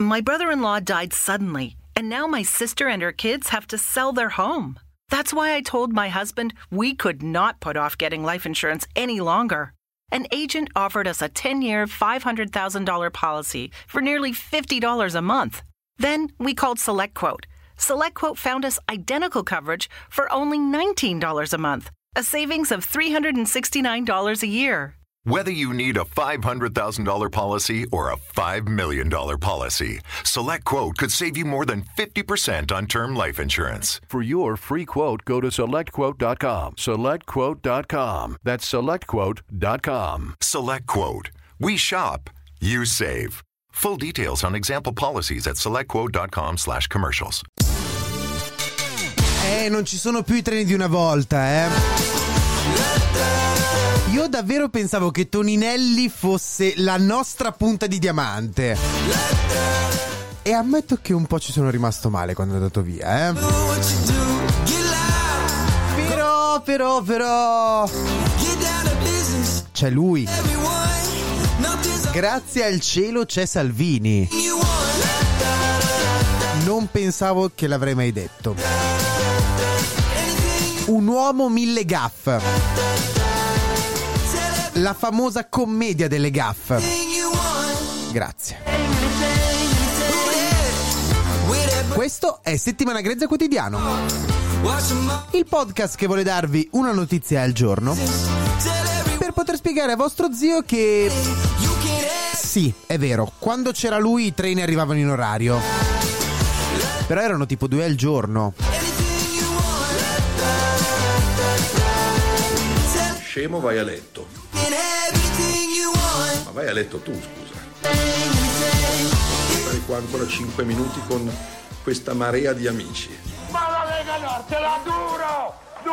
My brother-in-law died suddenly, and now my sister and her kids have to sell their home. That's why I told my husband we could not put off getting life insurance any longer. An agent offered us a 10-year, $500,000 policy for nearly $50 a month. Then we called SelectQuote. SelectQuote found us identical coverage for only $19 a month, a savings of $369 a year. Whether you need a $500,000 policy or a $5 million policy, SelectQuote could save you more than 50% on term life insurance. For your free quote, go to SelectQuote.com. SelectQuote.com. That's SelectQuote.com. SelectQuote. We shop. You save. Full details on example policies at SelectQuote.com/commercials. Non ci sono più i treni di una volta, Io davvero pensavo che Toninelli fosse la nostra punta di diamante. E ammetto che un po' ci sono rimasto male quando è andato via, Però c'è lui. Grazie al cielo c'è Salvini. Non pensavo che l'avrei mai detto. Un uomo mille gaffe. La famosa commedia delle gaffe. Grazie. Questo è Settimana Grezza Quotidiano, il podcast che vuole darvi una notizia al giorno per poter spiegare a vostro zio che sì, è vero, quando c'era lui i treni arrivavano in orario, però erano tipo 2 al giorno. Scemo, vai a letto. Ma vai a letto tu, scusa. Stare qua ancora 5 minuti con questa marea di amici. Ma la Lega Nord te la duro!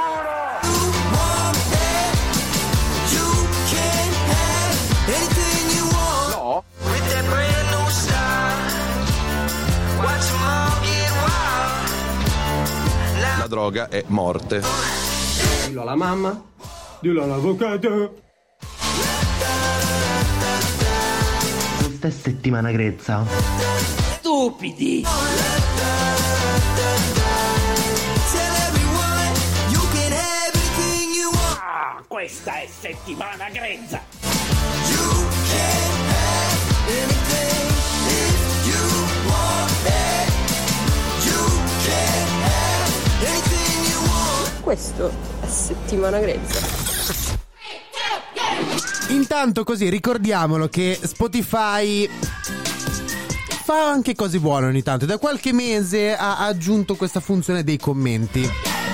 No? La droga è morte. Dillo alla mamma, dillo all'avvocato. Questa è Settimana Grezza. Stupidi! Questa è Settimana Grezza! Questo è Settimana Grezza. Intanto così ricordiamolo che Spotify fa anche cose buone ogni tanto. Da qualche mese ha aggiunto questa funzione dei commenti.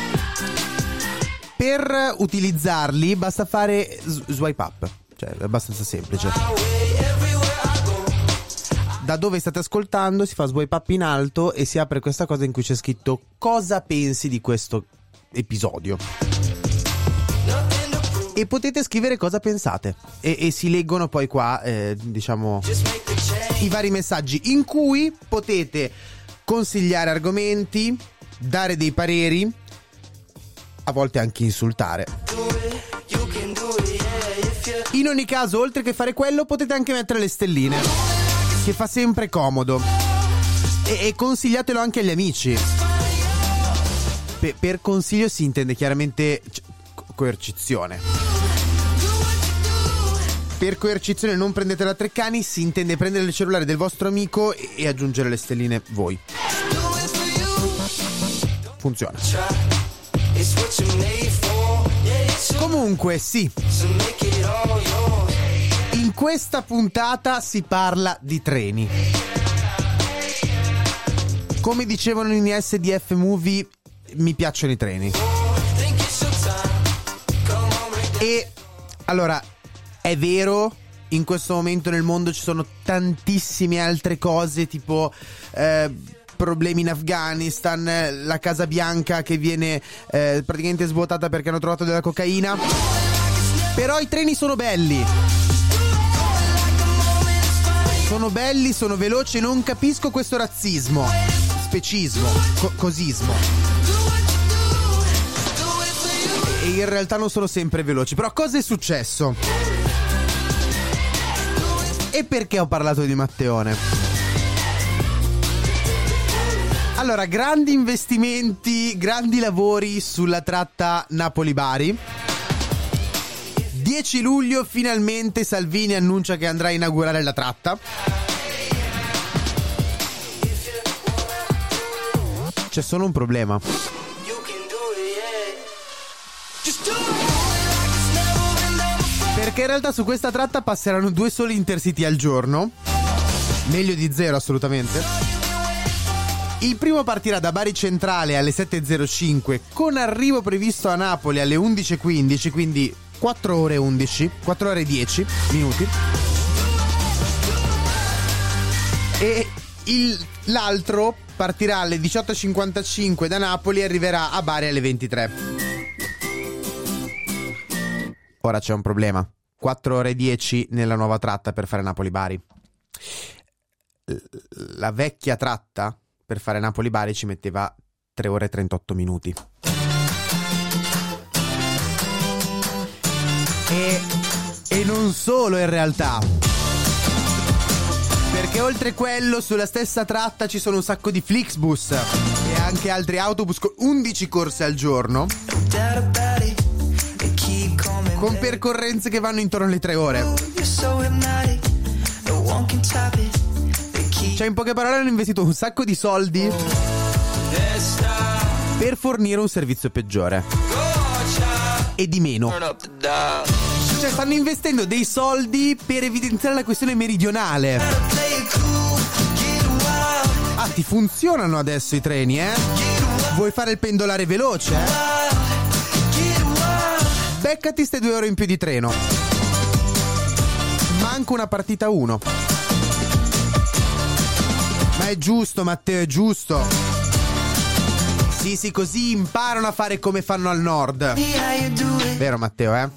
Per utilizzarli basta fare swipe up, cioè è abbastanza semplice. Da dove state ascoltando si fa swipe up in alto e si apre questa cosa in cui c'è scritto cosa pensi di questo episodio. E potete scrivere cosa pensate e si leggono poi qua diciamo i vari messaggi in cui potete consigliare argomenti, dare dei pareri, a volte anche insultare. In ogni caso, oltre che fare quello, potete anche mettere le stelline, che fa sempre comodo, e consigliatelo anche agli amici. Per consiglio si intende chiaramente coercizione. Per coercizione non prendete la Treccani, si intende prendere il cellulare del vostro amico e aggiungere le stelline voi. Funziona. Comunque sì, in questa puntata si parla di treni. Come dicevano in SDF Movie, mi piacciono i treni. E allora, è vero, in questo momento nel mondo ci sono tantissime altre cose, tipo problemi in Afghanistan, la Casa Bianca che viene praticamente svuotata perché hanno trovato della cocaina. Però i treni sono belli. Sono belli, sono veloci e non capisco questo razzismo, specismo, cosismo. E in realtà non sono sempre veloci. Però cosa è successo? E perché ho parlato di Matteone? Allora, grandi investimenti, grandi lavori sulla tratta Napoli-Bari. 10 luglio finalmente Salvini annuncia che andrà a inaugurare la tratta. C'è solo un problema. Perché in realtà su questa tratta passeranno 2 soli Intercity al giorno. Meglio di 0 assolutamente. Il primo partirà da Bari Centrale alle 7.05 con arrivo previsto a Napoli alle 11.15, quindi 4 ore e 10 minuti. E l'altro partirà alle 18.55 da Napoli e arriverà a Bari alle 23. Ora c'è un problema. 4 ore e 10 nella nuova tratta per fare Napoli-Bari. La vecchia tratta per fare Napoli-Bari ci metteva 3 ore e 38 minuti. E non solo in realtà. Perché oltre quello sulla stessa tratta ci sono un sacco di Flixbus e anche altri autobus con 11 corse al giorno, con percorrenze che vanno intorno alle 3 ore. Cioè, in poche parole, hanno investito un sacco di soldi per fornire un servizio peggiore e di meno. Cioè, stanno investendo dei soldi per evidenziare la questione meridionale. Ah, ti funzionano adesso i treni, eh? Vuoi fare il pendolare veloce, eh? Beccati ste 2 ore in più di treno. Manca una partita 1. Ma è giusto, Matteo, è giusto. Sì, così imparano a fare come fanno al nord. Vero, Matteo, eh?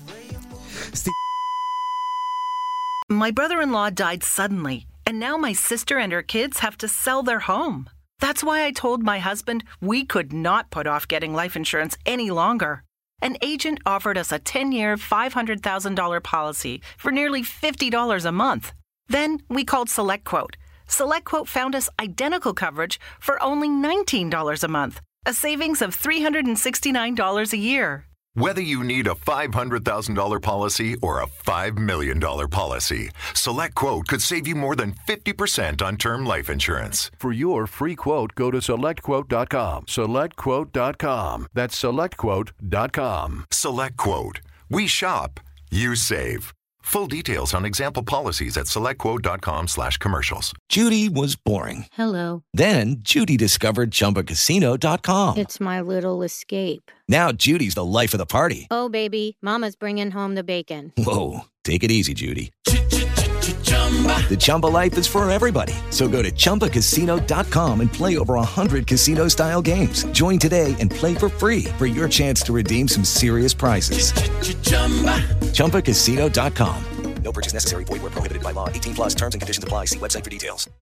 My brother-in-law died suddenly, and now my sister and her kids have to sell their home. That's why I told my husband we could not put off getting life insurance any longer. An agent offered us a 10-year, $500,000 policy for nearly $50 a month. Then we called SelectQuote. SelectQuote found us identical coverage for only $19 a month, a savings of $369 a year. Whether you need a $500,000 policy or a $5 million policy, SelectQuote could save you more than 50% on term life insurance. For your free quote, go to SelectQuote.com. SelectQuote.com. That's SelectQuote.com. SelectQuote. We shop, you save. Full details on example policies at SelectQuote.com/commercials. Judy was boring. Hello. Then Judy discovered ChumbaCasino.com. It's my little escape. Now Judy's the life of the party. Oh, baby, mama's bringing home the bacon. Whoa, take it easy, Judy. The Chumba life is for everybody. So go to ChumbaCasino.com and play over 100 casino-style games. Join today and play for free for your chance to redeem some serious prizes. ChumbaCasino.com. No purchase necessary. Void where prohibited by law. 18+ terms and conditions apply. See website for details.